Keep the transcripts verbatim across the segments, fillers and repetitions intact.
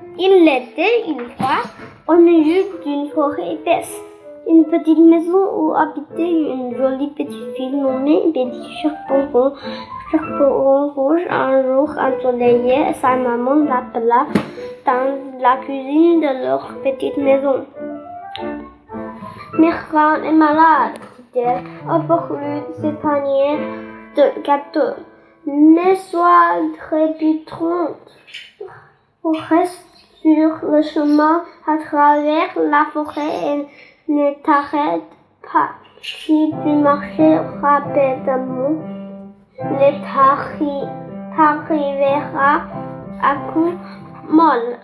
Il était une fois au milieu d'une forêt épaisse, une petite maison où habitait une jolie petite fille nommée Betty Chaperon. Chaperon rouge. Un jour ensoleillé, sa maman l'appela dans la cuisine de leur petite maison. Mère est malade, dit-elle. Offre-lui ce panier de gâteaux. Mais sois trépidante. Reste sur le chemin à travers la forêt et ne t'arrête pas. Si tu marches rapidement, ne t'arriveras à coup molle.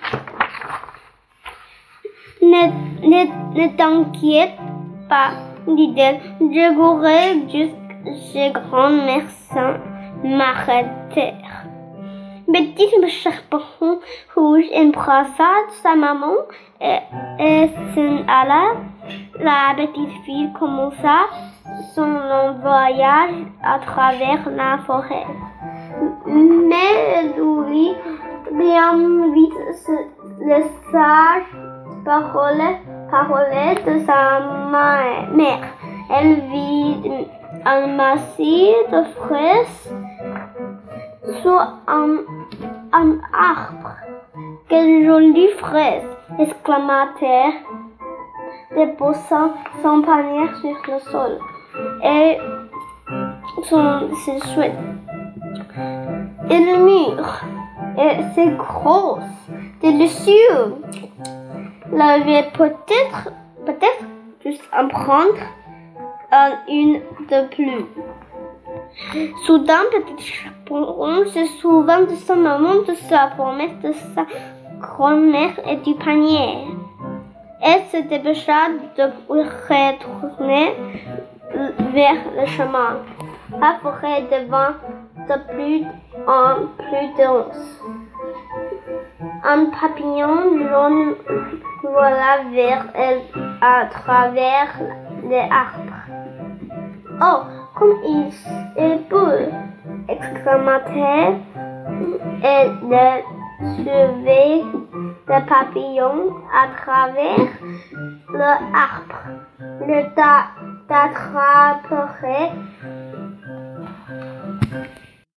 Ne, ne, ne t'inquiète pas, dit-elle. Je courais jusqu'à chez grand-mère sans m'arrêter. Betty Chaperon rouge embrassa sa maman et, et s'en alla. La petite fille commença son long voyage à travers la forêt. Mais elle oublie bien vite les sages paroles, paroles de sa mère. Elle vit un massif de fraises sous un, un arbre. Quelle jolie fraise! Exclama-t-elle, déposant son panier sur le sol. Et son, c'est chouette. Et le mûr, et c'est gros, délicieux. La vie peut-être, peut-être juste en prendre un, une de plus. Soudain, Petit Chaperon se souvint de sa maman, de sa promesse, de sa grand-mère et du panier. Elle se dépêcha de retourner vers le chemin. La forêt devint de plus en plus dense. Un papillon jaune vola vers elle à travers les arbres. Oh, comme il est beau! Exclama-t-elle. Elle suivait le papillon à travers l'arbre. Le t'attraperait